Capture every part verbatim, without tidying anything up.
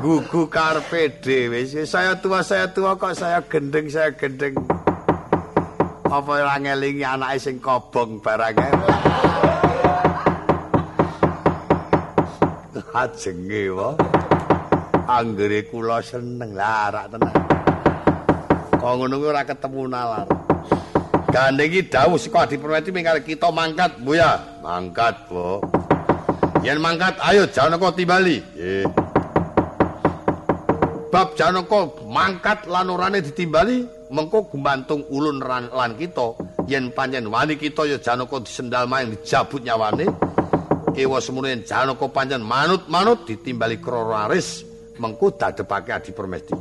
gugu karepe dhewe. Saya tua, saya tua kok saya gendeng, saya gendeng. Apa ora ngelingi anake sing kobong barang ae. Ajenge wae. Anggere kula seneng lah rak tenan. Kok ngono kuwi ora ketemu nalar. Gandeng iki dawuh saka Adi Permati mingkar kita mangkat, Bu ya. Mangkat, Bu. Yen mangkat ayo Janaka timbali. Nggih. Bab Janaka mangkat lan orane ditimbali, mengko gumantung ulun lan kita. Yen pancen wani kita ya Janaka disendal maing dijabut nyawane. Ewa semuanya Janaka pancen manut-manut ditimbali krara aris, mengko dadepake Adi Permesti.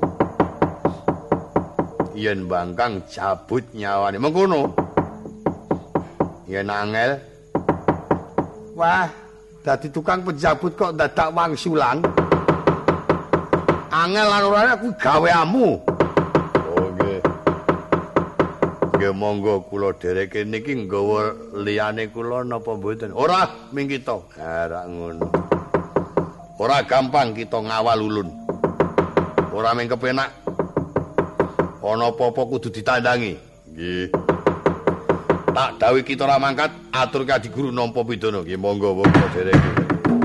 Yen bangkang jabut nyawane mengkono. Yen angel wah dadi tukang penjabut kok dadak wangsulan. Angel lan orane aku gaweamu. Oh nggih. Nggih monggo kula dereke niki nggawa liyane kula napa mboten? Ora ming kita. Ora ngono. Ora gampang kita ngawal ulun. Ora ming kepenak. Ana apa-apa kudu ditandangi. Nggih. Tak dawuh kita ora mangkat, aturke Adi Guru nampa pidana. Nggih monggo monggo dereke.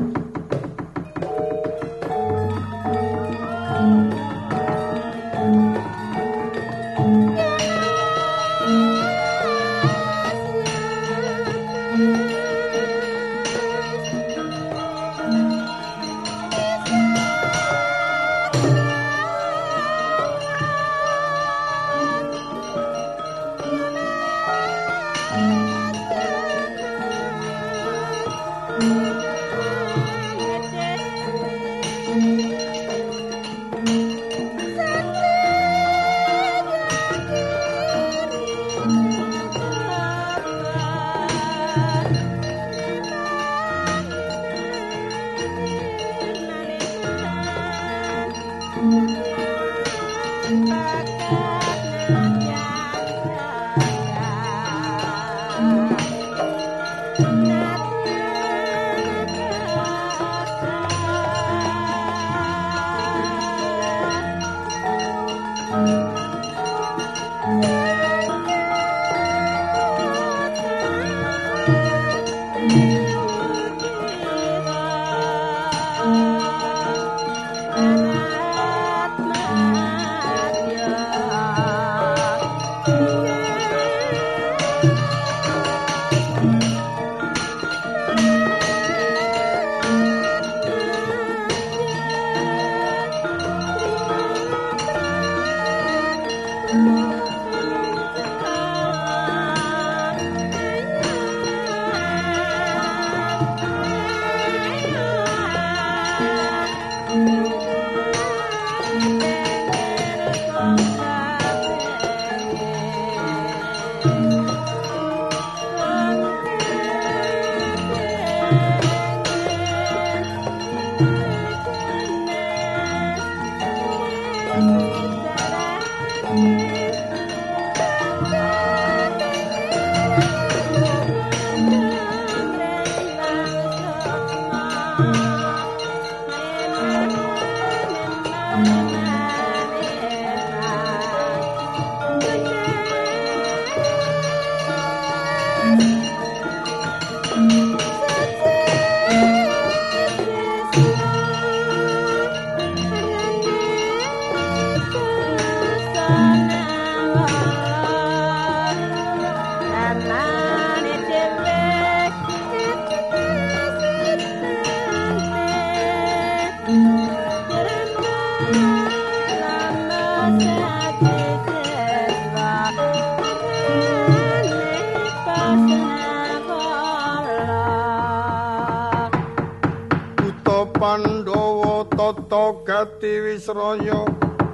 Pandhawa tata gati wisraya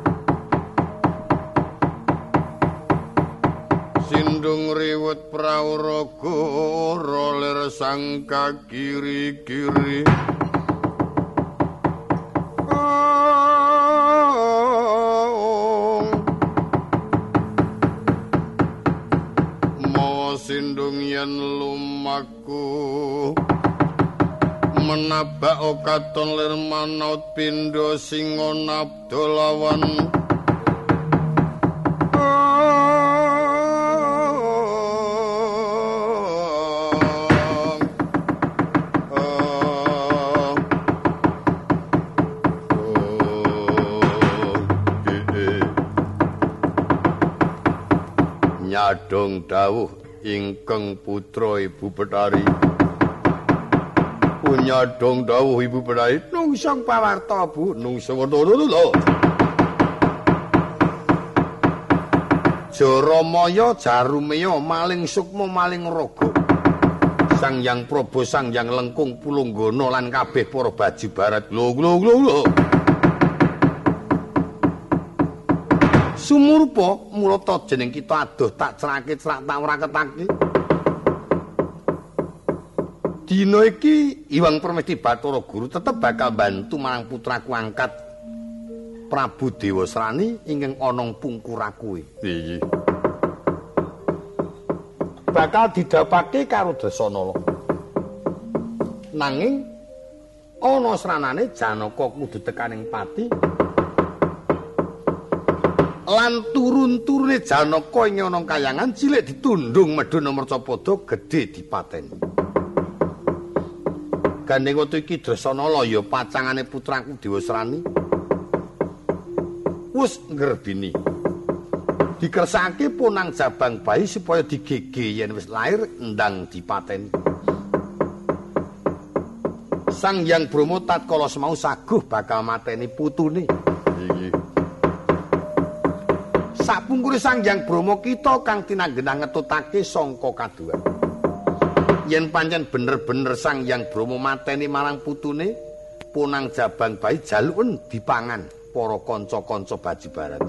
sindung riwet prawraga roler sang kakiri-kiri mawa sindung yen lumaku menabak katon lir manaut pindha singa nabdolawan nyadong dawuh ingkang putra Ibu Betari. Nyadong dawuh Ibu Betari nungsang pawarta Bu nungsang lho. Jaramaya Jarumeya maling sukma maling raga. Sang Hyang Praba Sang Hyang Lengkung Pulunggana lan kabeh para baji barat. Lho lho lho lho. Sumurpa mulata jeneng kita adoh tak cerake cerak tak wraketake. Dina iki Hyang Permesti Bathara Guru tetep bakal bantu marang putraku angkat Prabu Dewasrani ingkang ana pungkuraku. Iya. Bakal didhapake karo Dasanala. Nanging ana sranane Janaka kudu tekaning pati. Lan turun-turune Janaka ing ana kayangan cilik ditundung Medana Mercapada gedhe dipateni. Gandeng wektu iki Dasanala ya pacangane putraku Dewasrani. Wis ngrebini. Dikersake punang jabang bayi supaya digege yen wis lair ndang dipateni. Sang Hyang Brahma tatkala semau saguh bakal mateni putune. Iki. Sapungkure Sang Hyang Brahma kita kang tinanggenang ngetutake sangka kadua. Yen pancen bener-bener Sang Hyang Brahma mateni marang putune, punang jabang bayi jaluken dipangan para kanca-kanca baji barat.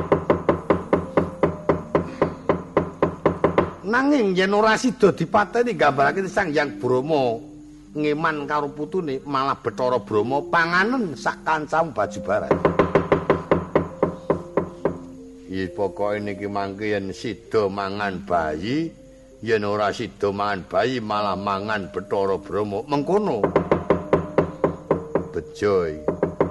Nanging yen ora sida dipateni gambarake Sang Hyang Brahma ngeman karo putune, malah Bathara Brahma panganen sak kancam baji barat. Iki pokoke niki mangke yen sida mangan bayi, yen ora sida mangan bayi malah mangan Bathara Brahma mengkono. Bejo iki.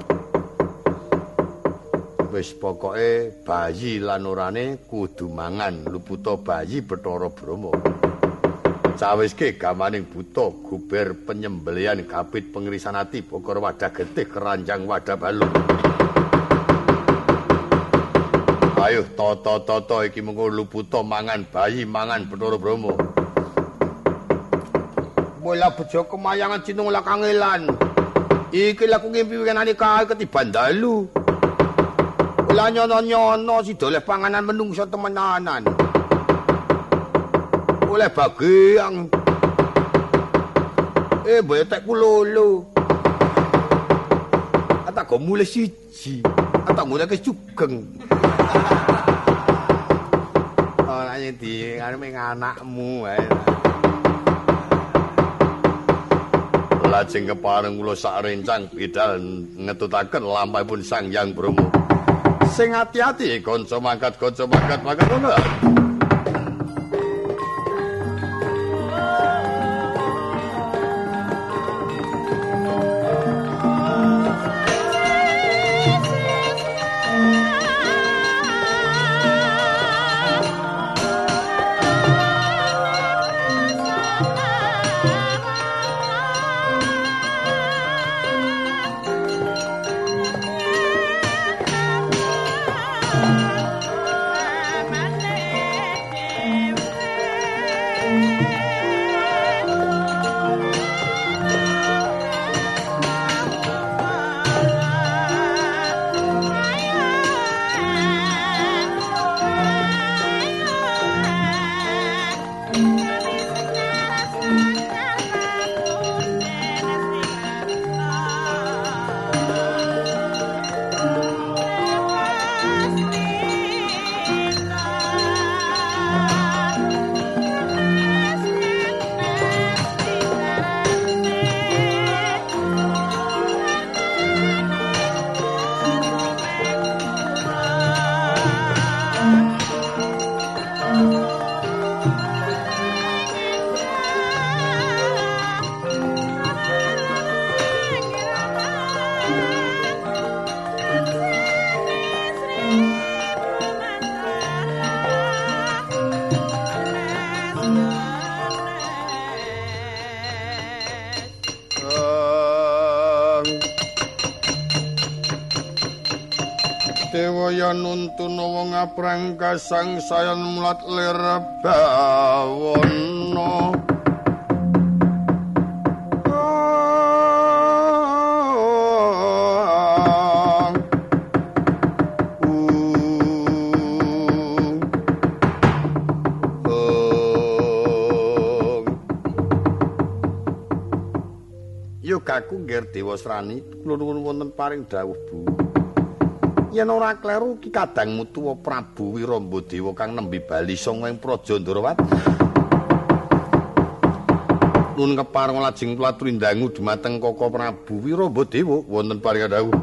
Wis pokoke bayi lan orane kudu mangan luputa bayi Bathara Brahma. Cawiske gamaning buta guber penyembelian gabit pengirisan ati bokor wadah getih keranjang wadah balung. Ayo toto-toto iki mengko luputa mangan bayi mangan Bathara Brahma. Bola bejo kemayangan cinung la kangelan. Iki laku ngimpi wenane kae ketiban dalu. Lah nyono-nyono si doleh panganan menungso temenanan. Oleh bagian. Eh betek ku lolo. Ata go mulih siji. Ata mulih ke sugeng. Ora nyedi arep anakmu ae. Lajeng kepareng kula sak rencang bidal ngetutaken lampahipun Sang Hyang Brahma. Sing ati-ati kanca mangkat kanca mangkat mangkat ngono. Mane Dewa yen nuntun wong aprang kasang sayan mulat lir bawana Yogaku nggih Dewa Srani kula nuwun wonten paring dawuh Bu. Yen ora kleru Ki Kadang Mutuwa Prabu Wiramba-Dewa kang nembe bali sanga ing Praja Ndarawati. Nun kepareng lajeng platuri ndangu dumateng Kaka Prabu Wiramba-Dewa wonten paring dawuh.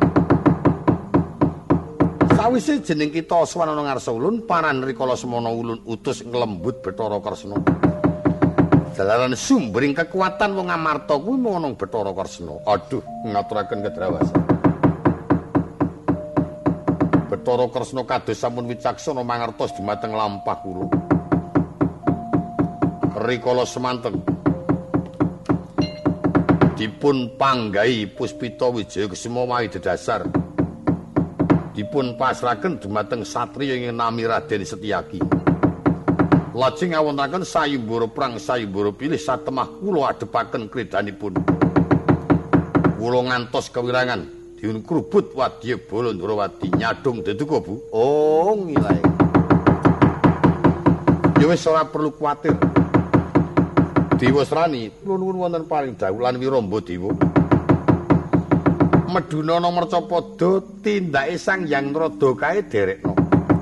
Sawise jeneng kita Swanana ngarsa ulun paran rikala semana ulun utus nglembut Bathara Kresna. Dalaran sumbering kekuatan wong Amarta kuwi mung ana Bathara Kresna. Aduh, ngaturaken kedrawasan. Bathara Kresna kados sampun wicaksana mangertos dumateng lampah kula. Rikala semanten dipun panggahi Puspita Wijaya Kesuma mawi dedasar. Dipun pasrahaken dumateng satriya ing nami Raden Setyaki. Lajeng ngawontenaken sayembara perang sayembara pilih satemah kula adepaken kredanipun. Kula ngantos kewirangan diun krubut wadya bala Ndarawati nyadong deduka Bu. Oh ngilae. Ya wis ora perlu kuwatir. Dewa Srani kula nuwun wonten paring dawuh lan Wiramba-Dewa. Medunana Mercapada tindake Sang Hyang Narada kae derekna.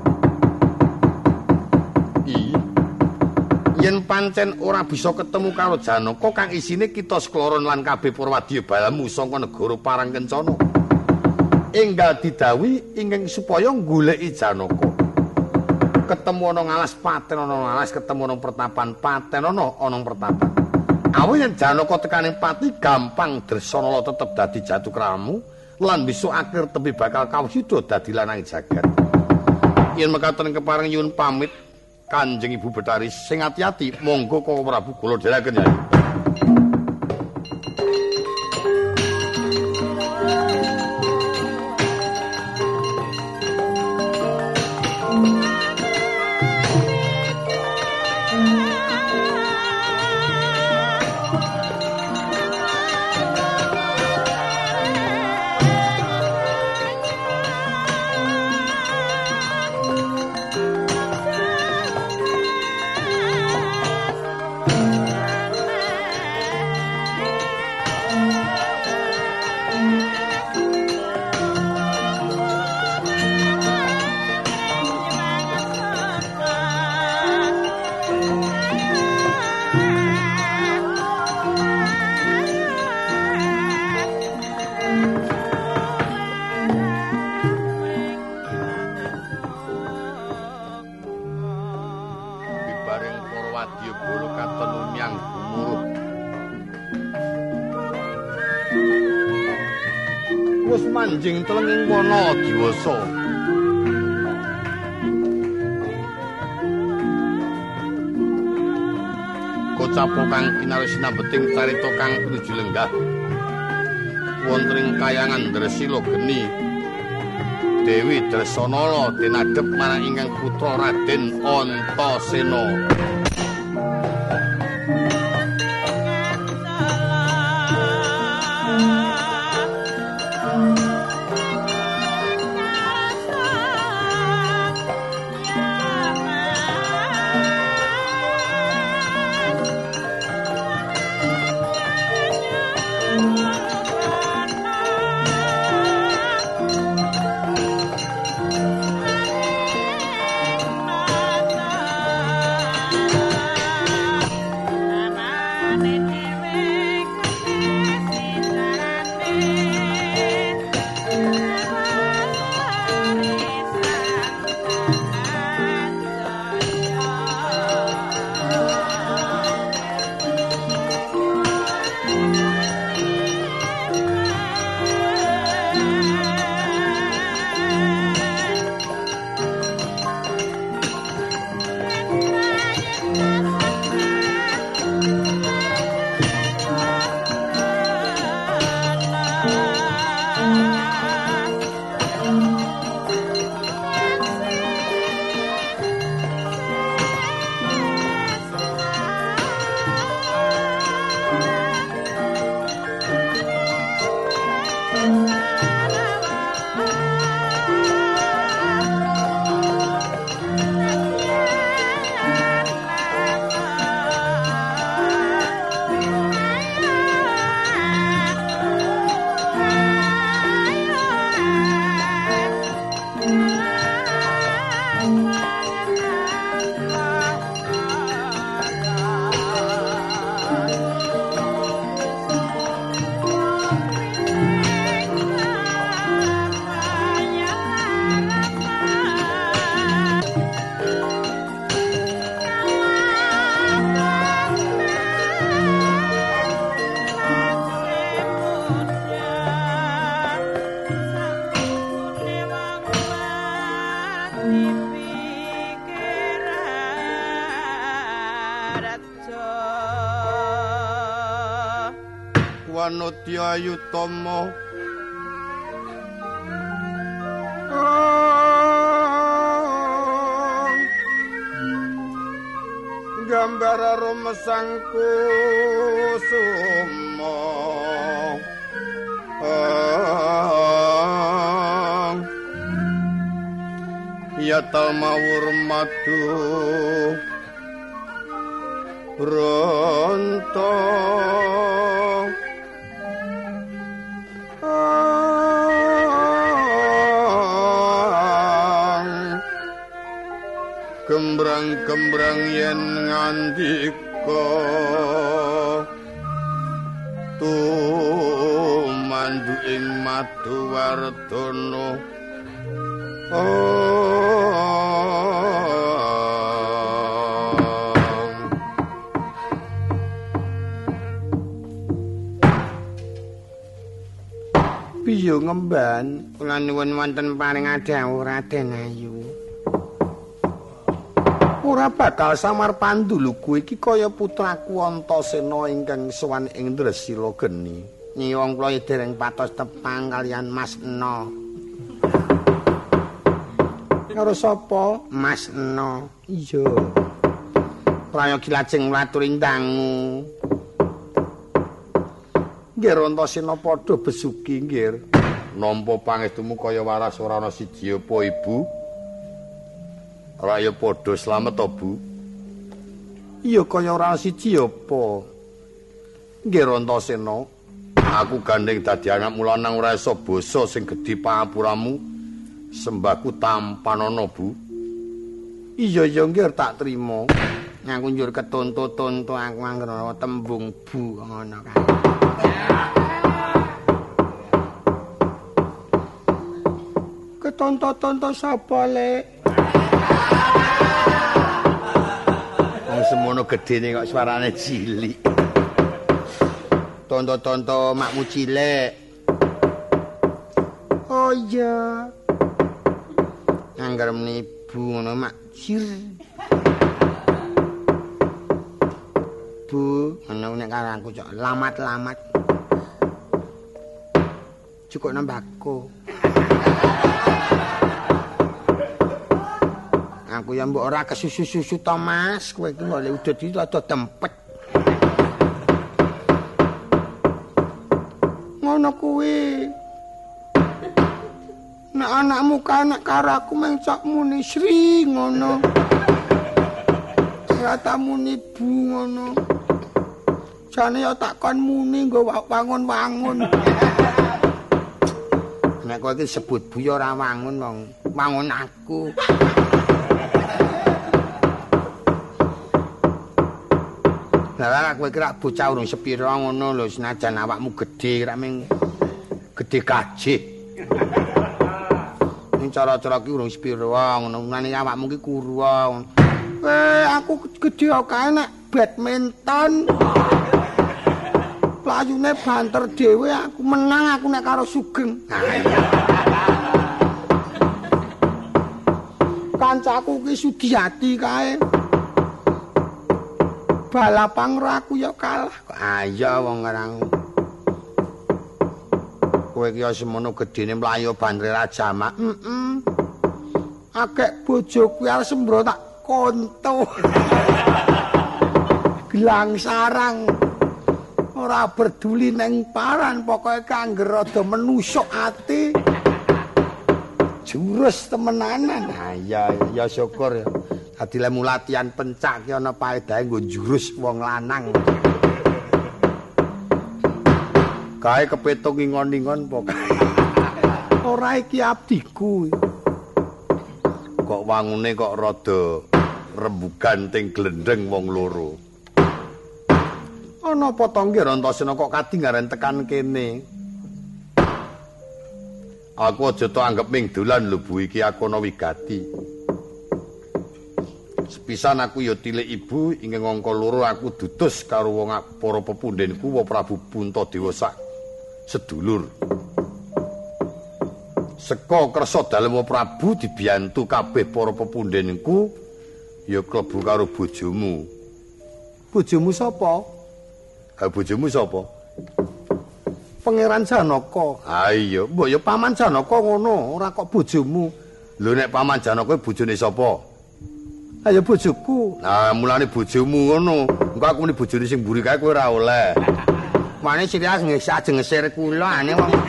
Iya. Yen pancen ora bisa ketemu karo Janaka kang isine kita sekloron lan kabeh Purwadya balamu saka negara Parangkencana. Enggal didhawuhi ingkang supaya goleki Janaka. Ketemu ana ngalas paten ana ngalas, ketemu ana pertapan paten ana ana pertapan. Awit yen Janaka tekaning pati gampang Dresanala tetep dadi jatukramu lan besok akhir tepi bakal kawuda dadi lanang jagat. Yen mekaten kepareng nyuwun pamit Kanjeng Ibu Betari sing ati-ati monggo Kaka Prabu kula dherekaken ya. Manjing telenging wana diwasa. Kocapo kang kinarep sinambeting carita kang pinuju lenggah wonten ing kayangan Dresila geni Dewi Dresanala tinadhep marang ingkang putra Raden Antasena. Wanodya Ayutama gambar rumesangku suma ya talmawur madu ronto gembrang-gembrang yen ngandika tumandu ing Maduwardana piye ngemban kula nuwun wonten paring adhawuh Raden Ayu. Ora bakal samar panduluku iki kaya putraku Antasena ingkang sowan ing Dresila geni. Nyuwun kula dereng patos tepang kalian Mas Ena. Karo sapa? Mas Ena. Iya. Prayogi lajeng ngaturi dangu. Nggih Antasena padha besuki nggih. Nampa pangestumu kaya waras ora ana siji apa Ibu? Raya padha slamet to, Bu? Iya kaya ora siji apa. Nggih Antasena, aku gandeng dadi anakmu lanang ora isa basa sing gedhi pangapuramu. Sembahku tampanana, Bu. Iya ya nggih tak trima. Aku njur ketonto-tonto aku anggere tembung Bu ngono kae. Ketonto-tonto sapa, Lek? Wong semono gedene kok suarane cilik. Tonto-tonto makmu cilik. Oh iya. Angger menibu ngono mak cir. Bu, ngono nek karo aku cok lamat-lamat. Cukup nambahku. Aku ya mbok ora kesusu-susu to Mas, kowe iki oleh udut iki rada dempet. Ngono kuwi. Nek anakmu kanak karo aku mung cok muni Sri ngono. Ora tak muni Bu ngono. Jane ya tak kon muni nggo wangun-wangun. Nek kowe iki sebut Bu ya ora wangun wong, wangun aku. Lah kowe kira bocah urung sepira ngono lho senajan awakmu gedhe kira ming gedhe kajih. Ning cara-cara ki urung sepira ngono mane awakmu ki kuru. Eh aku gedhe kae nek badminton. Playune banter dhewe aku menang aku nek karo Sugeng. Kancaku ki Sudiati kae. Balapang aku ya kalah. Ayo wong ngarang. Kowe ki semono gedene mlayu bandre Rajama. Heeh. Akeh bojoku arep sembro tak konto. Gelang sarang. ora peduli neng paran, pokoke kangge rada menusuk ati. Jurus temenanan. Nah, ya ya syukur ya. Dadi lemu latihan pencak ki ana paedahe nggo jurus wong lanang. Kae kepetung ingon-ingon pokoke. Ora iki abdiku. Kok wangune kok rada rembugan ting glendeng wong loro. Ana apa to nggih Rantasena kok kadingaren tekan kene? Aku aja to anggap ming dolan lho Bu, iki aku ana wigati. Sepisan aku ya tilik ibu ing ngangka loro aku dutus karo wong para pepundhenku wa Prabu Puntadewa sak sedulur. Seka kersa dalem Prabu dibiyantu kabeh para pepundhenku ya klebu karo bojomu. Bojomu sapa? Ha bojomu sapa? Pangeran Janaka. Ha iya, mbok ya Paman Janaka ngono, ora kok bojomu. Lho nek Paman Janaka bojone sapa? Ha ya bojoku. Nah, mulane bojomu ngono. Engko aku muni bojone sing mburi kae kowe ora oleh. Mane sirias nggih sajeng ngesir kula ane wong.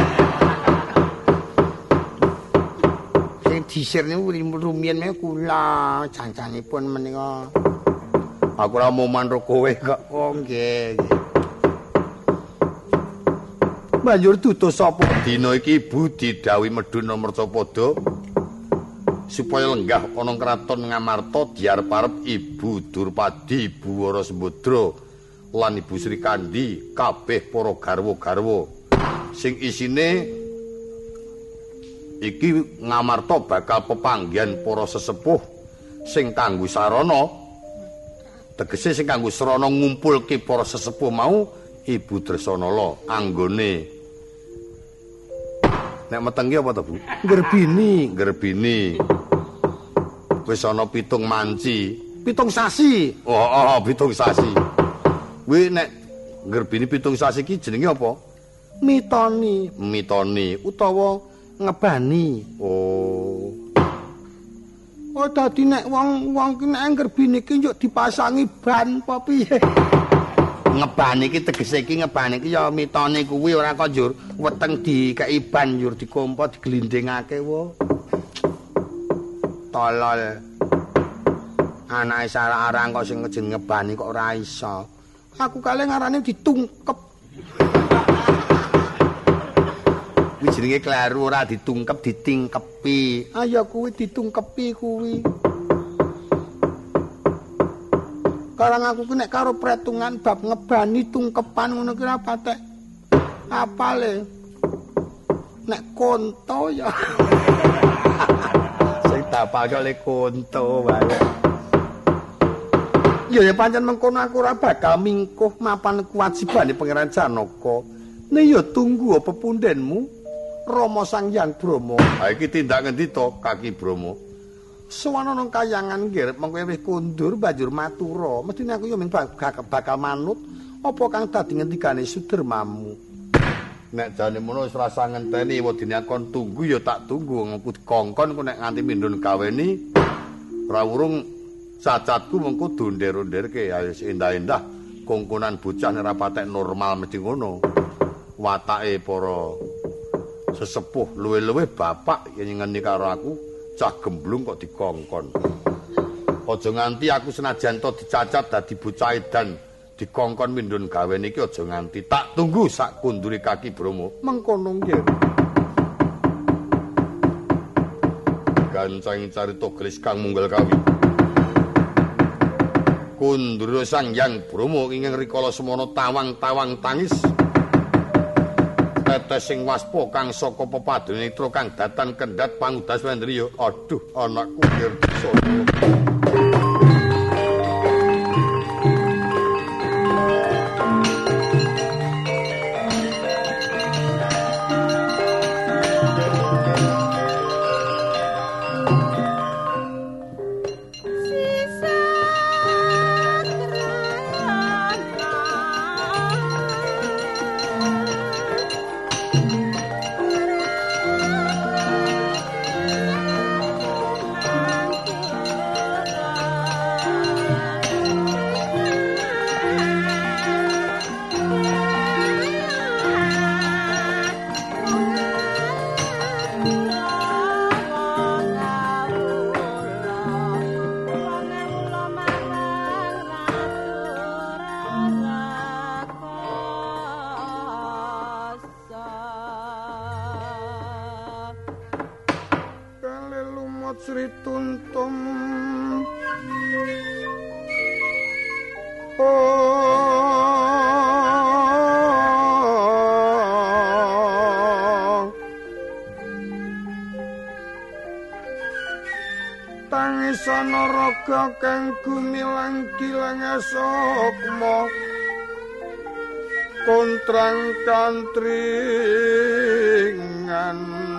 Sing disir niku rumiyin me kula, jancanipun menika. Aku ora mau manro kowe kok. Oh nggih. Banjur tutus sapa? Dina iki Ibu didhawuhi medhun Mercapada supaya lenggah ana kraton Ngamarta diarep-arep Ibu Durpadi, Ibu Warasembadra lan Ibu Sri Kandi kabeh para garwa-garwa sing isine iki Ngamarta bakal pepanggihan para sesepuh sing kanggo sarana tegese sing kanggo sarana ngumpulke para sesepuh mau Ibu Dresanala anggone nek meteng apa to Bu? Gerbini, gerbini. Wis ana pitung manci, pitung sasi. Oh, oh, pitung sasi. Kuwi nek gerbini pitung sasi iki jenenge apa? Mitoni, mitoni utawa ngebani. Oh. Oh dadi nek wong-wong ki nek gerbini iki njuk dipasangi ban apa piye? Ngebani iki tegese iki ngebani iki ya mitone kuwi ora kok njur weteng dikeki ban njur dikompo diglindingake wo. Tolol. Anake sarang kok sing jeneng ngebani kok ora iso. Aku kale ngarane ditungkep. Kuwi jenenge kleru ora ditungkep ditingkepi. Ah ya kuwi ditungkepi kuwi. Karang aku ki nek karo pretungan bab ngebani tungkepan ngono ki ora patek apale. Nek konto ya. Sing dapake oleh konto wae. Ya ya pancen mengkono aku ora bakal mingkuh mapan kewajibane Pangeran Janaka. Nek ya tunggu pepundhenmu Rama Sang Hyang Brahma. Ha iki tindak ngendi to Kaki Brahma? Sowan ana kayangan nggih mengko wis kundur banjur matura. Mestine aku yo ming bakal manut apa kang dadi ngendikane Sudermamu. Nek jane mono wis rasa ngenteni wedine kon tunggu ya tak tunggu ngku dikongkon ku nek nganti mindun gaweni ora urung cacatku mengko donder-onderke ayo endah-endah kongkonan bocah nek patek normal mesti ngono. Watake para sesepuh luwe-luwe bapak yen ngene karo aku cah gemblung kok dikongkon. Aja nganti aku senajan to dicacat dadi bocah edan dikongkon mindun gawen iki aja nganti tak tunggu sak kundure Kaki Brahma. Mengkono nggih. Gancang carita gelis kang munggal kawi. Kundura Sang Hyang Brahma ingkang rikala semana tawang-tawang tangis. Tetes sing waspa kang saka pepadune netra kang datan kendhat pangudas wendriya. Aduh anakku Kirtisana. Sri Tuntung oh tangisana raga kang gumilang gilang sukma kontrang kantringan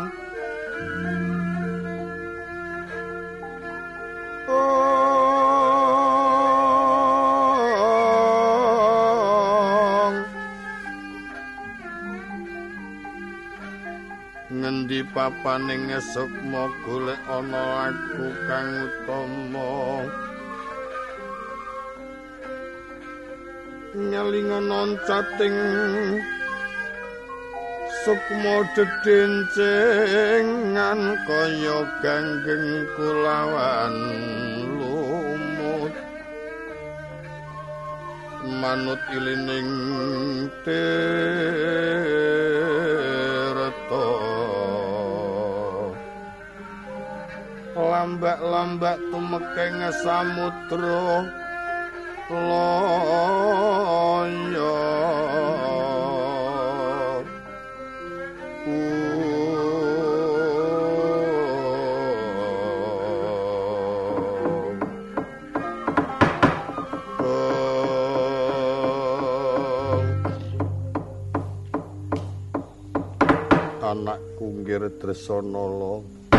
ngendi papaning sukma golek ana laku kang utama nyalingan cating sukma dedencengan kaya ganggeng kulawan lumut manut ilining tirta lambak-lambak tumekeng samudra loyo anakku nggir Dresanala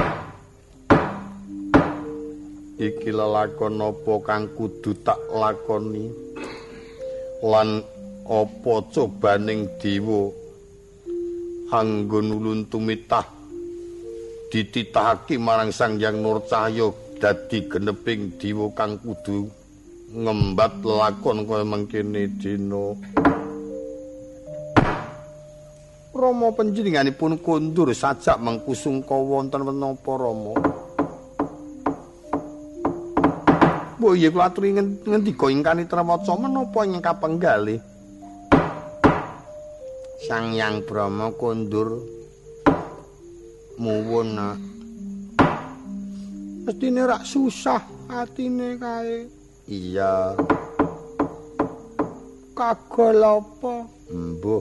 iki lelakon apa kang kudu tak lakoni lan apa cobaning dewa anggon ulun tumitah dititahake marang Sang Hyang Nurcahya dadi geneping dewa kang kudu ngembat lelakon kaya mengkene dina Rama panjenenganipun kondur sajak mengkusungka wonten menapa Rama Oh iya kula aturi ngendika ingkang Nitrawaca menapa ingkang kapenggalih Sang Hyang Brahma kondur muwun nak mestine rak susah atine kae iya kagol apa mbuh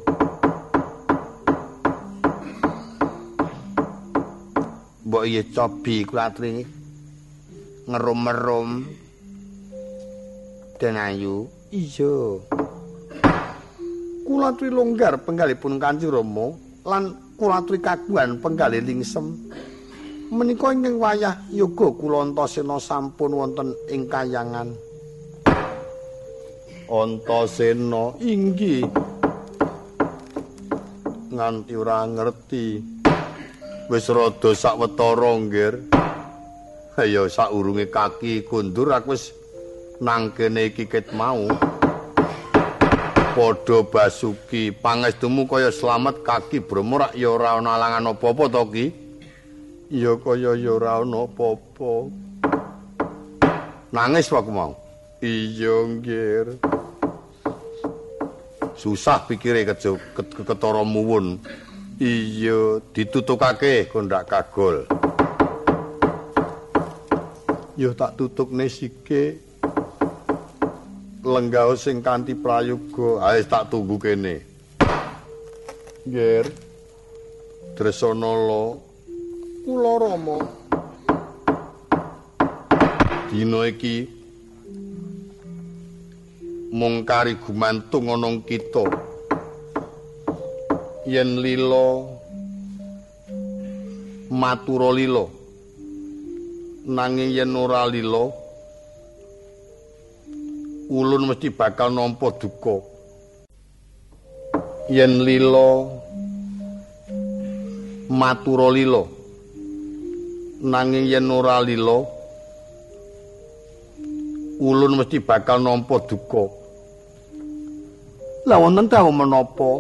mbok iya cobi kula aturi ngerum-merum Den Ayu iya kula aturi longgar penggalipun Kanjeng Rama lan kula aturi kagungan penggalih lingsem menika ing wayah yoga kula Antasena sampun wonten ing kayangan Antasena inggih nganti ora ngerti wis rada sawetara nggir ayo saurunge kaki kondur aku wis nang kene iki ket mau padha basuki pangestumu kaya slamet kaki Brama rak ya ora ana alangan apa-apa to Ki ya kaya ya ora ana apa-apa nangis wae mau iya nggir susah pikire kejo ketara muwun iya ditutukake kok ndak kagol ya tak tutukne sike lenggah sing kanthi prayoga ae tak tunggu kene nggih Dresanala kula Rama dina iki mung kari gumantung ana kita yen lila matura lila nanging yen ora lila ulun mesti bakal nampa duka yen lila matura lila nanging yen ora lila ulun mesti bakal nampa duka la wonten ta menapa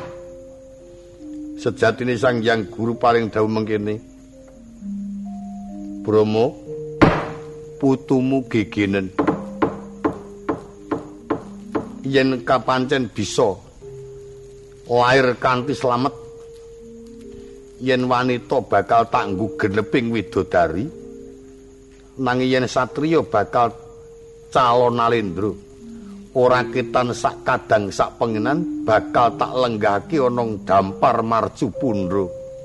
sejatine Sang Hyang Guru paring dawuh mengkene Brama putumu gegenen yen kapancen bisa lair kanthi slamet yen wanita bakal tak nggo geneping widodari nanging yen satriya bakal calon Nalendra ora ketan sak kadang sak pengenan bakal tak lenggahake ana dampar marju pundra.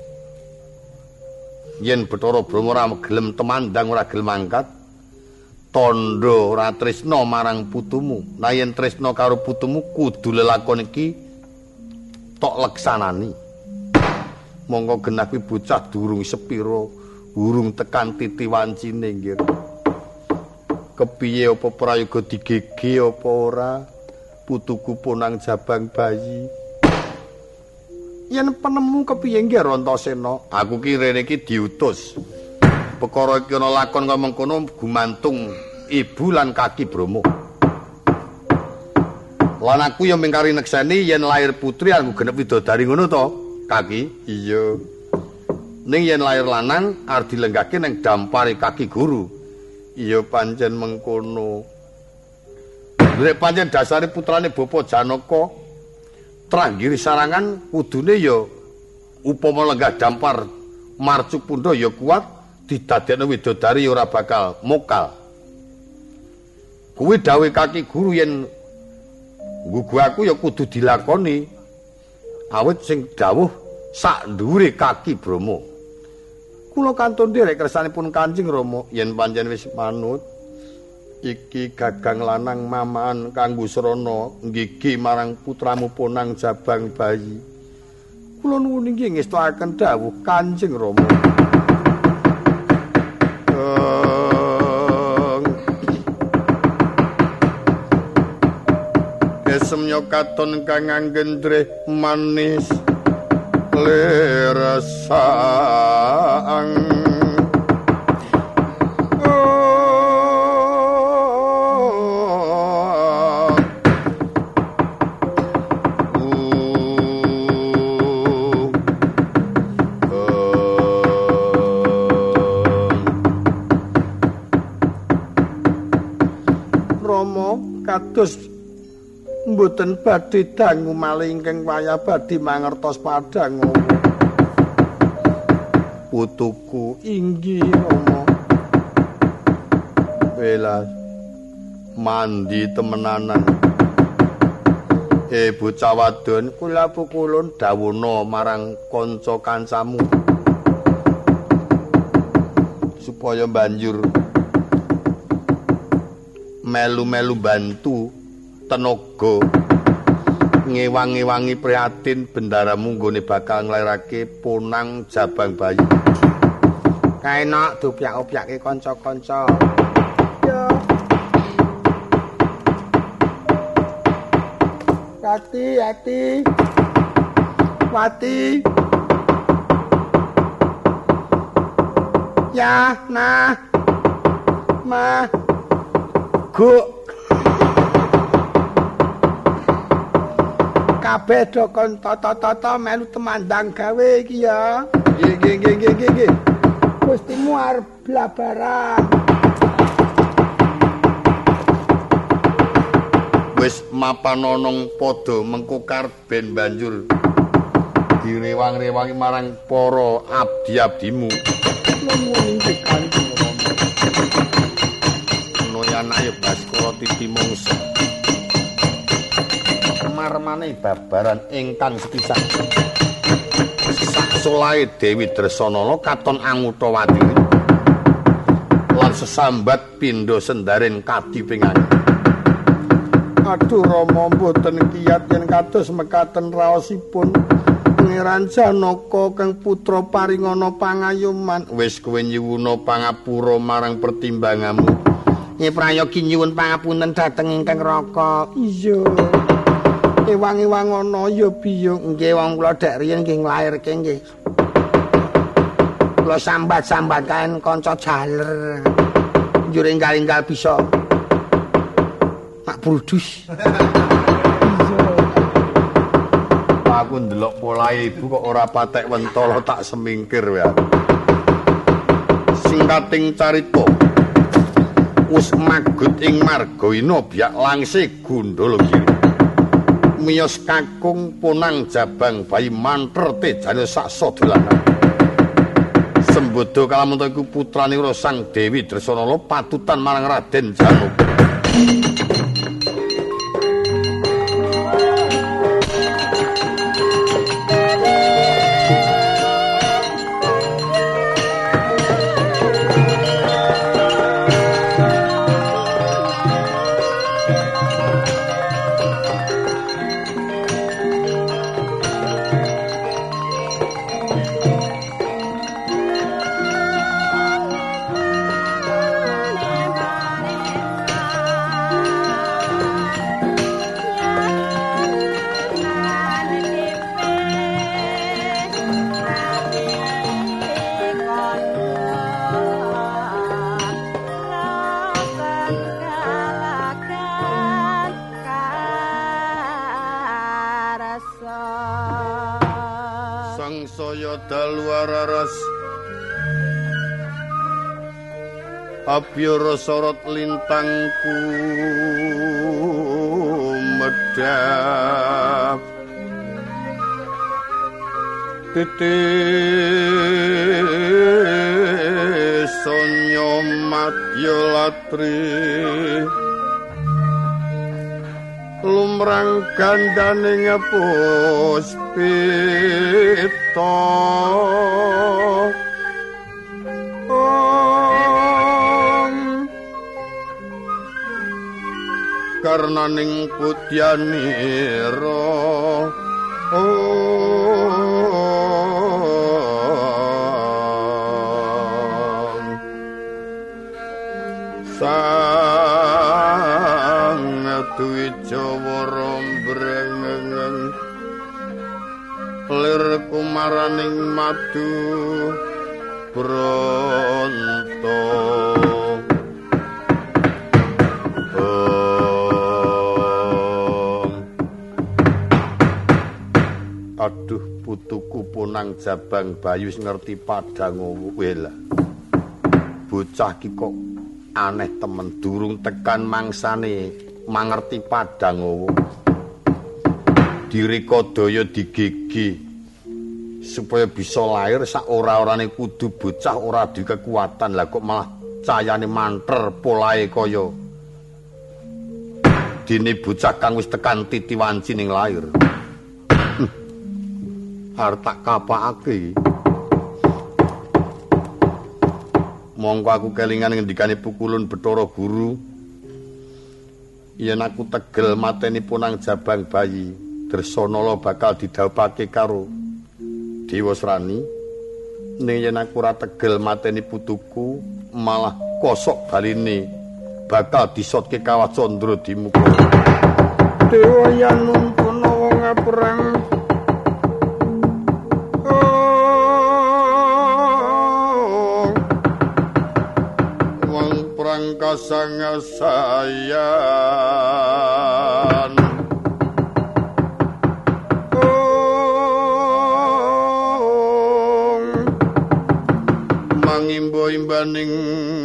Yen Bathara Brama ora gelem temandang ora gelem angkat tandha ora tresna marang putumu. Nah yen tresna karo putumu kudu lelakon iki tok leksanani. Monggo genah kuwi bocah durung sepira, durung tekan titi wancine nggih. Kepiye apa prayoga digege apa ora putuku punang jabang bayi. Yen penemu kepiye nggih Rantasena? Aku ki rene iki diutus. Perkara iki ana lakon kaya mengkono gumantung ibu lan kaki Brama. Lan aku ya mingkari nekseni yen lair putri aku genep widodari ngono to, Kaki? Iya. Ning yen lair lanang arep dilenggahke ning dampare kaki guru. Iya pancen mengkono. Nek pancen dasare putrane Bapa Janaka Tranggiri sarangan kudune ya upama lenggah dampar marcuk pundha ya kuat didadekno widodari ya ora bakal mokal. Kuwi dawuh kaki guru yen nggugu aku ya kudu dilakoni. Awit sing dawuh sak dhuwure kaki Brama. Kula kantun nderek kersanipun Kanjeng Rama yen pancen wis manut iki gagang lanang mamaan kanggo srana nggigi marang putramu Ponang Jabang bayi. Kula nuwun inggih ngestakaken dawuh Kanjeng Rama. Kesemnya katon kang anggendreh manis leresang. Kados mboten badhe dangu malih ingkang wayah badhe mangertos padhang putuku inggih Rama. Welas mandi temenanan. Eh bocah wadon kula pukulun dawuhna marang kanca kancamu supaya banjur melu-melu bantu tenaga ngewang-ewangi prihatin bendaramu nggone bakal nglairake Ponang Jabang bayi. Kaenak dopyak-opyake kanca-kanca. Yo. Hati, hati. Wati. Ya, nah. Ma. Gu kabeh do kon tata-tata melu temandang gawe iki ya. Nggih nggih nggih nggih nggih. Gustimu arep blabaran. Wis mapan nonong padha mengko karben banjur direwang-rewangi marang para abdi-abdimu. Nuwun ing Kanjeng ayo Baskara titi mungsa marmane babaran ingkang sepisan sak solahe Dewi Dresanala katon Angutawati lan sesambat pindha sendaren kadipingan. Aduh Rama mboten kiyat yen kados mekaten raosipun Pangeran Janaka kang putra paringana pangayuman. Wis kowe nyuwuna pangapura marang pertimbanganmu. Nggih prayogi nyuwun pangapunten dhateng ingkang Raka. Iya. Ewang-ewang ana ya biyung. Nggih wong kula dek riyen nggih nglairke nggih. Kula sambat-sambat kaen kanca jaler. Njur enggal-enggal bisa. Pak Brudus. Aku ndelok polahe ibu kok ora patek wentala tak semingkir ya. Singkating carita wis magut ing margaina biak langse Gundalagiri. Miyos kakung Ponang Jabang bayi manter tejane saksa dolanan. Sembodo Kalamunta iku putrane Sang Dewi Dresanala patutan marang Raden Janaka. Sangsaya dalu araras Abyara sorot lintangku medhap titis sonya madya latri lumrang gandane puspita om karnaning putyanira om sang Twijawa rombrengeng lir kumaraning madu bronto oh. Aduh putuku punang jabang bayu ngerti padang wela bocah ki kok aneh temen durung tekan mangsane mangerti padang Dirikadaya digigi supaya bisa lahir sak ora-orane kudu bocah ora duwe kekuatan lah kok malah cayane manter polahe kaya dene bocah kang wis tekan titi wanci ning lahir arep tak kapakake mongko aku kelingan ngendikane Pukulun Bathara Guru yen aku tegel mateni punang jabang bayi Dresanala bakal didhawuhake karo Dewa Srani ning yen aku ora tegel mateni putuku malah kosok baline bakal disotke Kawah Candra dimuka Dewa yen nuntun wong perang wong perang kasangasayan imbaning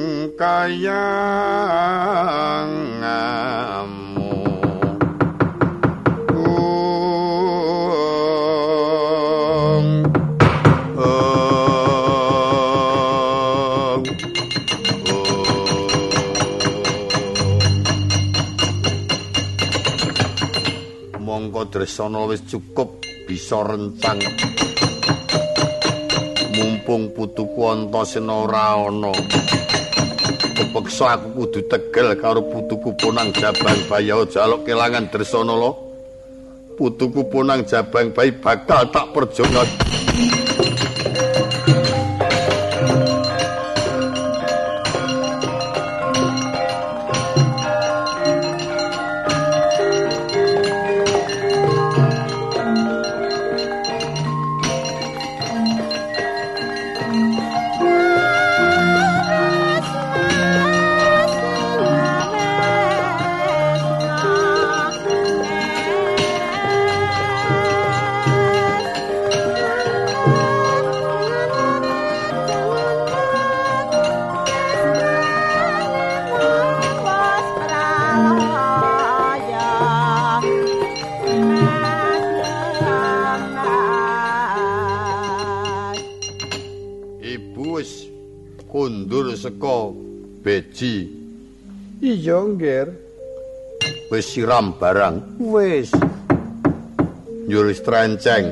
kayangamu um, um, um. Mongko Dresanala wis cukup bisa rencang mumpung putuku Antasena ora ana kepeksa aku kudu tegel karo putuku Ponang Jabang Bayi jaluk kelangan Dresanala putuku Ponang Jabang Bayi bakal tak perjona wis kundur saka beji. Iya, Nggir. Wis siram barang. Wis. Nyuris trenceng.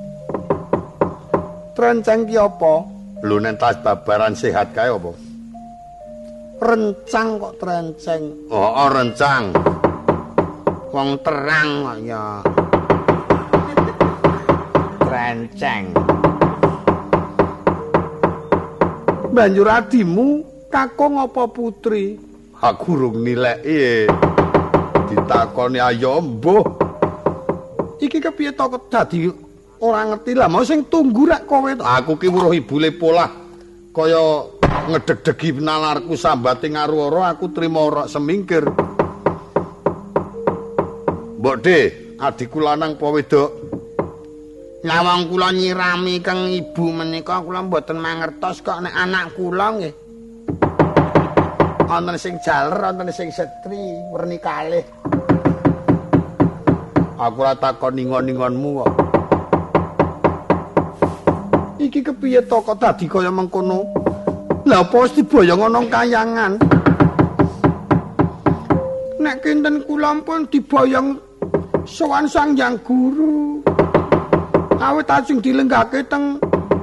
Trenceng ki apa? Lho nek tas babaran sehat kae apa? Rencang kok trenceng. Oh, oh rencang. Wong terang kok ya. Trenceng. Banjur adimu kakung apa putri? Aku rung nileki. Ditakoni ayo mbuh. Iki kepiye to dadi ora ngerti lah, mau sing tunggu rak kowe to. Aku ki weruh ibule polah kaya ngedeg-degi nalarku sambate ngaruara aku trima ora semingkir. Mbok De, adikku lanang apa wedok? Lah wong kula nyirami kang ibu menika kula mboten mangertos kok nek anak kula nggih. Wonten sing jaler, wonten sing setri, werni kalih. Aku ora takon ningon-ningonmu kok. Iki kepiye to kok dadi kaya mengkono? Lah apa wis diboyong ana kayangan? Nek kinten kula pun diboyong sowan Sang Hyang Guru. Awit ajeng dilenggake teng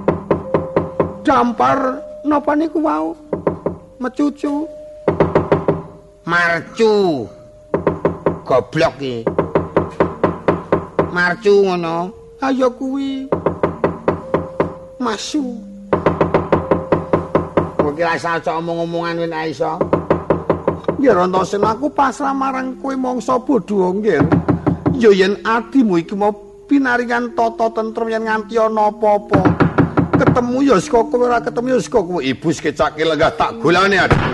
dampar napa niku wau? Mecucu. Marcu. Goblok iki. Marcu ngono. Ayo kuwi. Masu. Kowe kira asal omong-omongan wen iso. Ya rontosen aku pasrah marang kowe mangsa bodho nggih. Ya yen adimu iki mau pinaringan tata tentrem yen nganti ana apa-apa. Ketemu ya saka kowe ora ketemu ya saka kowe. Ibu sekecake lenggah tak golane adikku.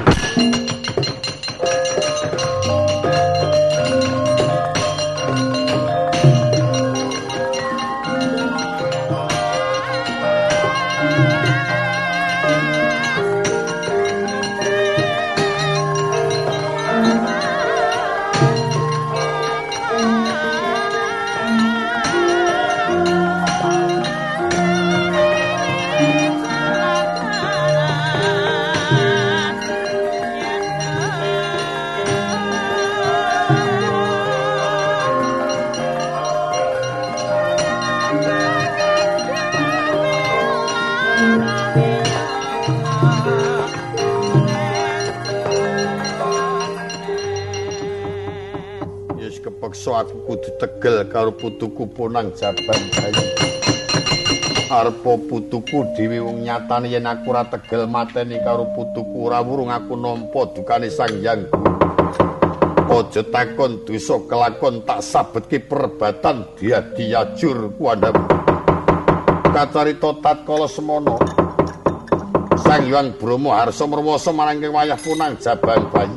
Aku kudu tegel karo putuku Ponang Jabang Bayi. Arpa putuku dhewe wong nyatane yen aku ora tegel mateni karo putuku ora wurung aku nampa dukane Sang Hyang Guru. Aja takon dosa kelakon tak sabetke perebatan diadi-yajur kuandam. Kacarita tatkala semana Sang Hyang Brahma harsa mrewasa marang wayah Ponang Jabang Bayi.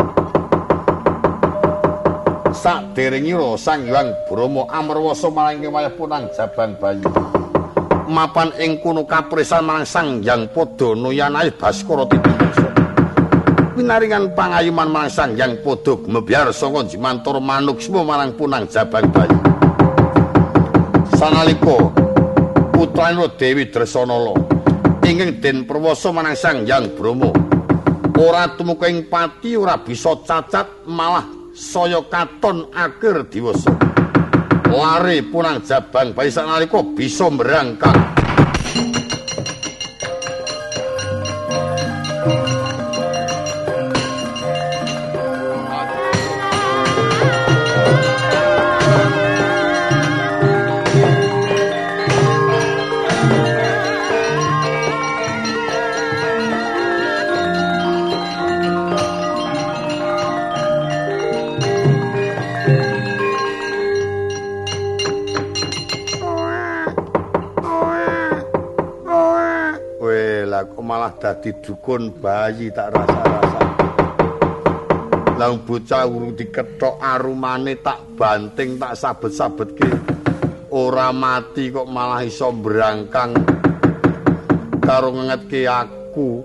Saderengipun Sang Hyang Brahma amrewasa marang wayah Ponang Jabang Bayi. Mapan ing kono kapresan marang Sang Hyang Pada Nuyanahe Baskara Tidaksa. Pinaringan pangayuman marang Sang Hyang Pada Gmebyar saka Jimantara Manuksma marang Ponang Jabang Bayi. Sanalika putrane Dewi Dresanala ingkang den perwasa marang Sang Hyang Brahma ora tumeka ing pati ora bisa cacat malah saya katon akhir diwasa. Lare Ponang Jabang Bayi sanalika bisa merangkang. Malah dadi dukun bayi tak rasa-rasa. Lah bocah urung dikethok arumane tak banting tak sabet-sabetke. Ora mati kok malah iso brangkang karo ngengetke aku.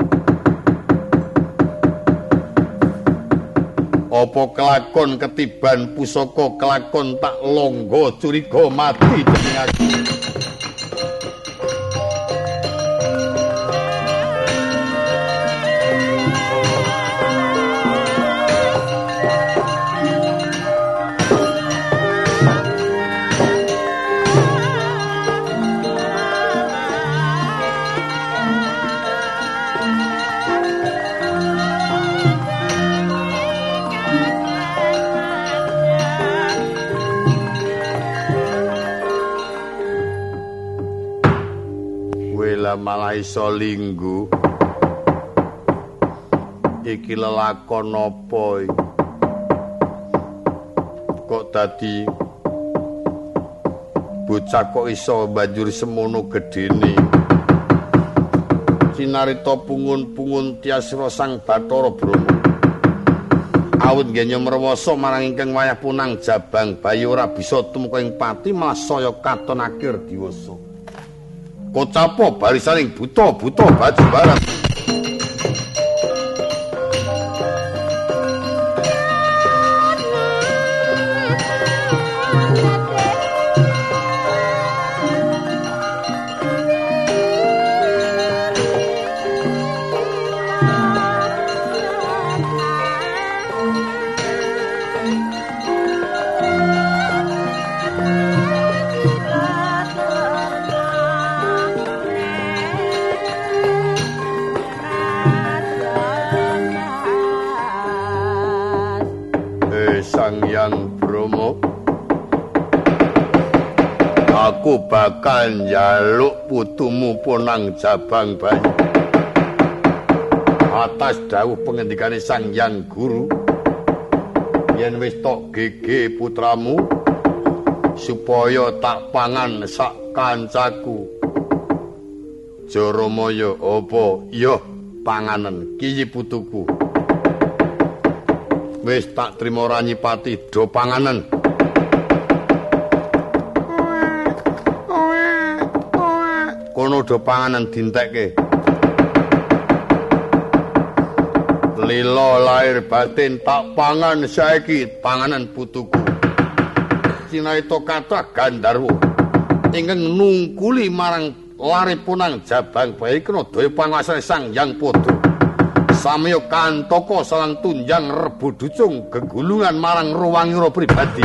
Apa kelakon ketiban pusaka kelakon tak longgo curiga mati dening aku. Wela malah iso linggu. Iki lelakon apa iki? Kok dadi bocah kok iso banjur semono gedene. Cinarita pungun-pungun tiasira Sang Bathara Brama. Awit nggenya mrewasa marang ingkang wayah punang Jabang Bayi ora bisa tumeka ing pati malah saya katon akhir diwasa. Kocapa barisaning buta-buta baju barat. Sang Hyang Brahma, aku bakal njaluk putumu Ponang Jabang Bayi atas dawuh pengendikane Sang Hyang Guru yen wis tok gege putramu supaya tak pangan sak kancaku Jaramaya. Apa iya panganen kiyi putuku wis tak trima Ranyipati do panganen. Kono do panganen dintekke. Lila lahir batin tak pangan saiki panganan putuku. Cinarita kathah Gandharwa ingkang nungkuli marang lare punang Jabang Bayi kena daya panguwasane Sang Hyang Pada. Samya kantaka salang tunjang rebu ducung gegulungan marang ruwangira pribadi.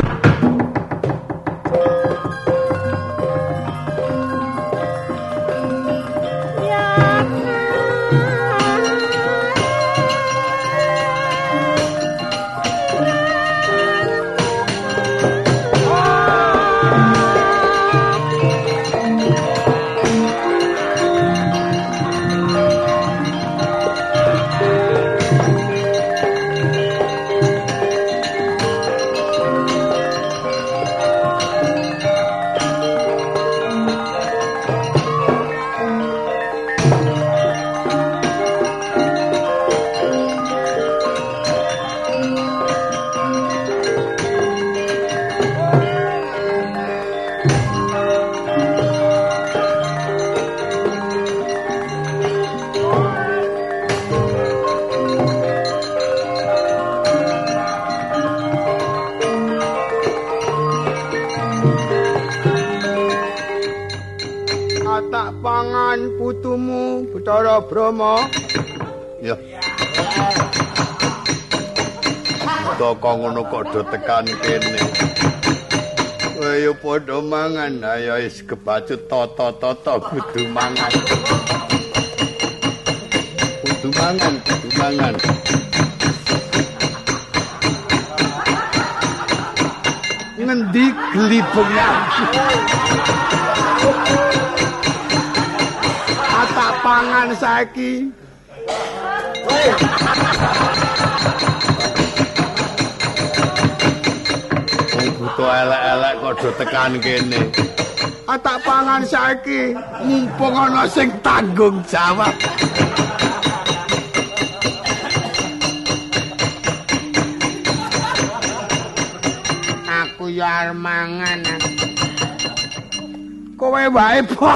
Brahma. Ya. Toko ngono kok do tekan kene. Ayo padha mangan, ayo wis kebacut toto-toto kudu mangan. Kudu mangan, kudu mangan. Ngendi glibeng. Tak pangan saiki. Wong buta elek-elek kok do tekan kene. Tak pangan saiki, mumpung ana sing tanggung jawab. Aku ya arep mangan. Kowe wae, Pak.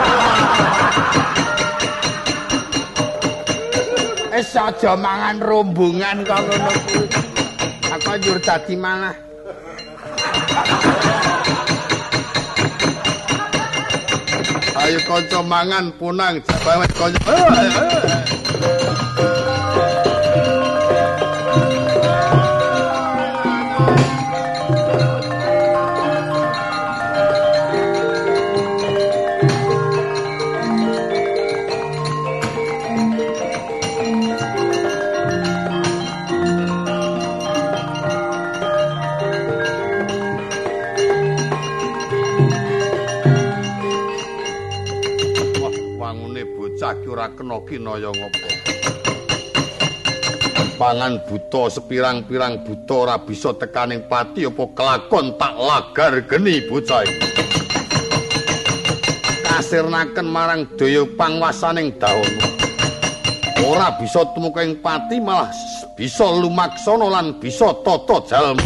Wis aja mangan rombongan kok ngono kuwi. Aku njur dadi malah. Ayo kanca mangan punang Jabang kanca. wangune bocah ki ora kena kinaya ngopo. Pangan buta sepirang-pirang buta ora bisa tekaning pati apa kelakon tak lagar geni bocah iki. Kasirnaken marang daya pangwasaning Dawana. Ora bisa tumuking pati malah bisa lumaksana lan bisa tata jalma.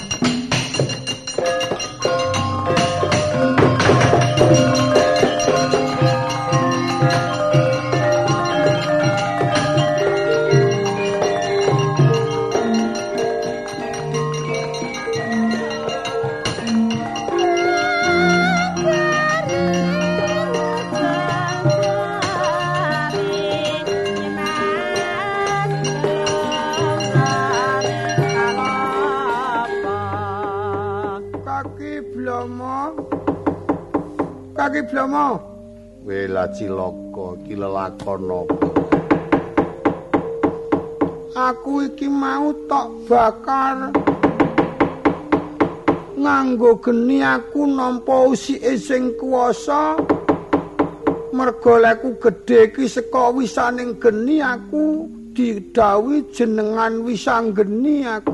Kaki Blomo. Wela cilaka iki lelakon apa? Aku iki mau tok bakar nganggo geni aku nampa usike sing kuwasa. Merga leku gedhe iki saka wisaning geni aku didhawuhi jenengan wisanggeni aku.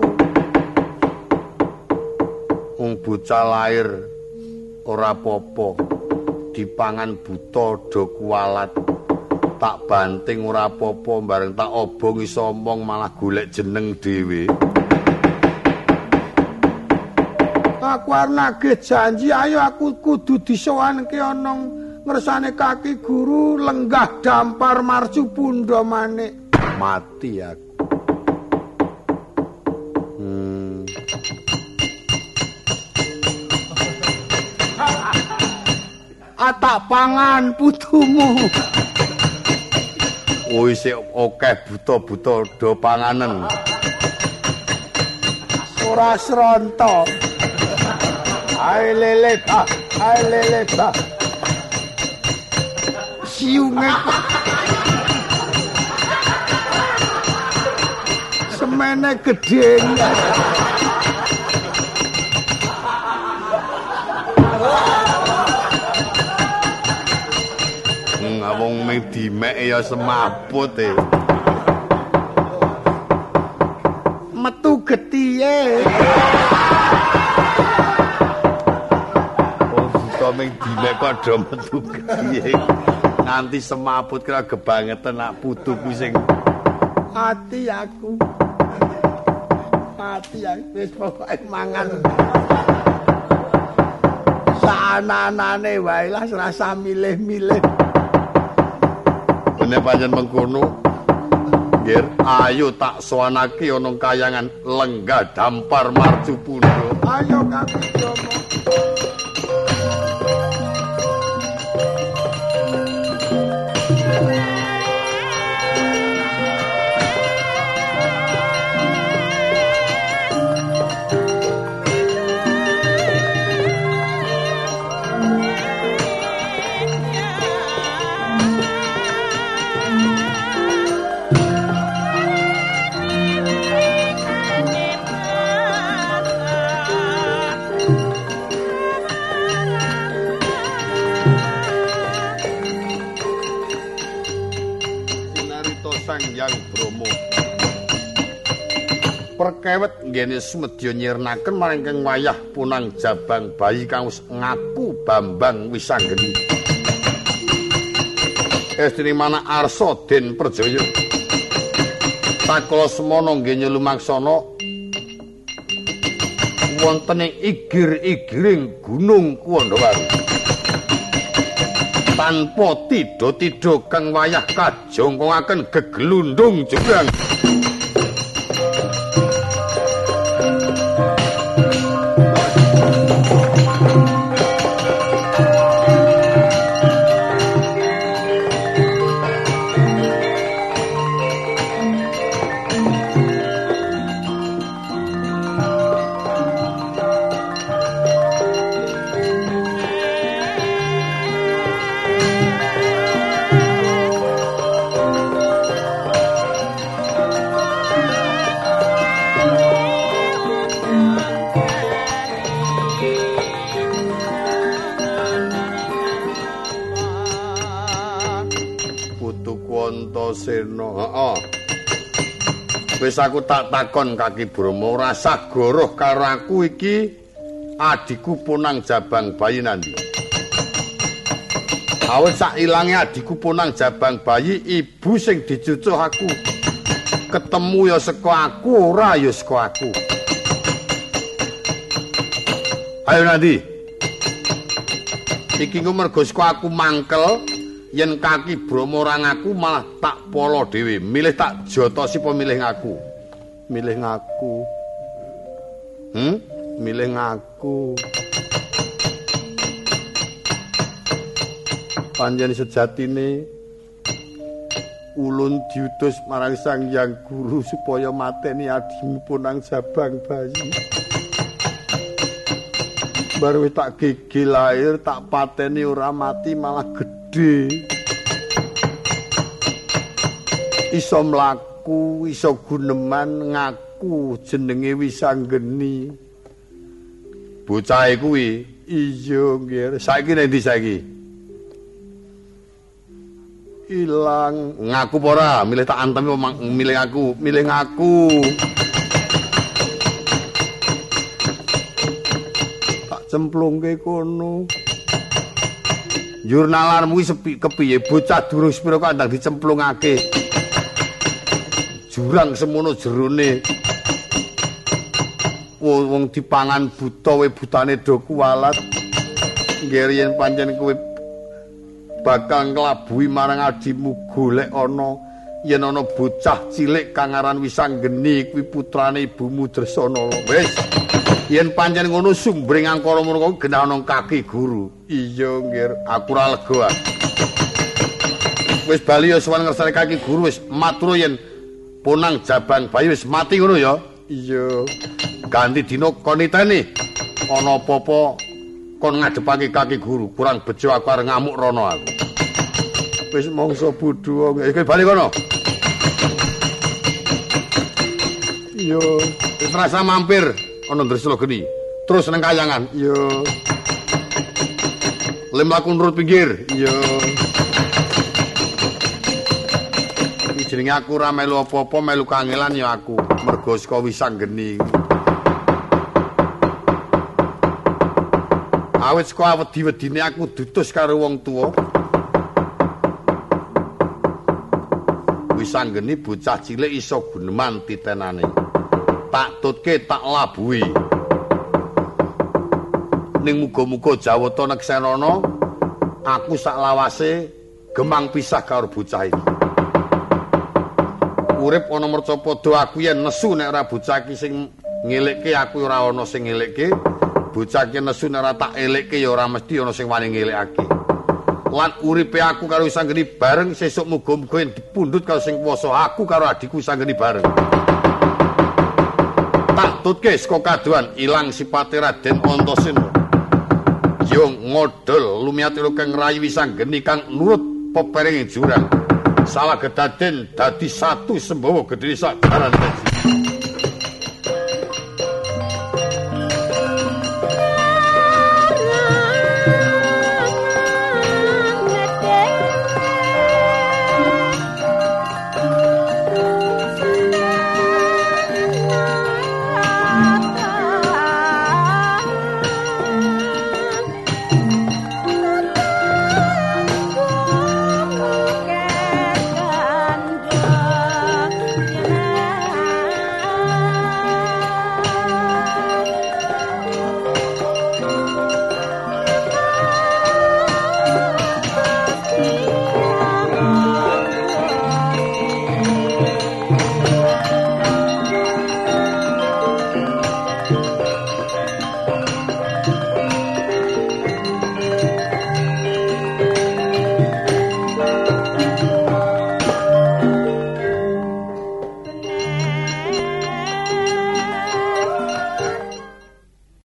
Wong bocah lair ora apa-apa. Dipangan buta do kualat tak banting ora apa-apa bareng tak obong iso omong malah golek jeneng dhewe. Aku arep nagih janji ayo aku kudu disowanke ana ngersane kaki guru lenggah dampar marcu pundha manik. Mati aku. Hmm. Atak pangan putumu. Oh isih akeh buta-buta do panganen. Ora sronto. Ae lele ta, ae lele ta. Siunge. Semene gedhe. Wong ming dimek ya semaput e. Metu getihe. Wong buta ming dimek kok do metu getihe. Nganti semaput kira kebangetan nak putu kuwi sing ati aku. Ati aku wis pokoke mangan. Sananane wae lah rasa milih-milih. Nek pancen mengkono, nggih, ayo tak sowanake ana kayangan lenggah dampar marcu pundha. Ayo Kaki Jomo. Perkewet nggene sumedya nyirnaken maring kang wayah punang jabang bayi kang wis ngaku Bambang Wisanggeni. Estri mana Arsa Den Perjaya. Sakala semana nggih lumaksana wonten ing igir-igiring Gunung Kuwandawaru. Tanpa tida-tida kang wayah kajongkongaken geglundung jebrang. Antasena. Heeh. Wis aku tak takon Kaki Brama, ora sagoroh karo aku iki adikku Ponang Jabang Bayi nandi. Awit sak ilange adikku Ponang Jabang Bayi, ibu sing dicucuh aku. Ketemu ya saka aku, ora ya saka aku. Ayo Nandi. Iki ku mergo saka aku mangkel, yen Kaki Brama ora ngaku malah tak polo dhewe. Milih tak jotosi apa milih ngaku? Milih ngaku. Hmm? Milih ngaku. Panjen sejatine ulun diutus marang Sang Hyang Guru supaya mateni adimu Ponang Jabang Bayi. Baru tak gigi lahir, tak pateni ora mati malah gedhe. Iso mlaku, iso guneman, ngaku jenenge Wisanggeni. Bocah kuwi, iya nggih. Saiki nek ndi saiki? Ilang, ngaku apa ora? Milih tak antemi milih aku, milih ngaku. Tak cemplungke kono. Jurnalarmu iki sepi kepiye? Bocah durung sepira kok ndang dicemplungake. Jurang semono jerone. Wong dipangan buta we butane do kuwalat. Nggih yen pancen kowe bakal nglabui marang adimu golek ana yen ana bocah cilik kang aran Wisanggeni kuwi putrane ibumu Dresana. Wis yen pancen ngono sumbring angkara murka genah ana Kaki Guru. Iya nggih aku ora lega. Wis bali ya sowan ngersane Kaki Guru wis matur yen Ponang Jabang Bayi wis mati ngono ya. Iya. Ganti dina koniteni ana apa-apa kon ngadepake Kaki Guru, kurang bejo aku arep ngamuk rono aku. Wis mangsa bodho, iki bali kono. Iya, wis rasa mampir ana Dresna Geni. Terus nang kayangan. Iya. Lem laku nurut pinggir. Iya. Iki jenenge aku ora melu apa-apa, melu kangelan ya aku. Mergo saka Wisanggeni. Awit saka wedi-wedine aku dutus karo wong tuwa. Wisanggeni bocah cilik iso guneman titenane. Tak tutke tak labuhi. Ning muga-muga Jawata Neksenana aku sak lawase gemang pisah karo bocah iki. Urip ana mercapada aku yen nesu nek ora bocah iki sing ngelekke aku ora ana sing ngelekke. Bocah ki nesu nek ora tak elekke ya ora mesti ana sing wani ngelekake. Lan uripe aku karo Wisanggeni bareng sesuk muga-muga yen dipundhut karo sing kuwasa aku karo adikku Wisanggeni bareng. Tak tutke saka kaduan ilang sipate Raden Antasena. Yo ngodol lumiatira kang rayi Wisanggeni kang nurut peperinging jurang. Salah gedaden dadi satu sembawa gedhe sak jaran dadi.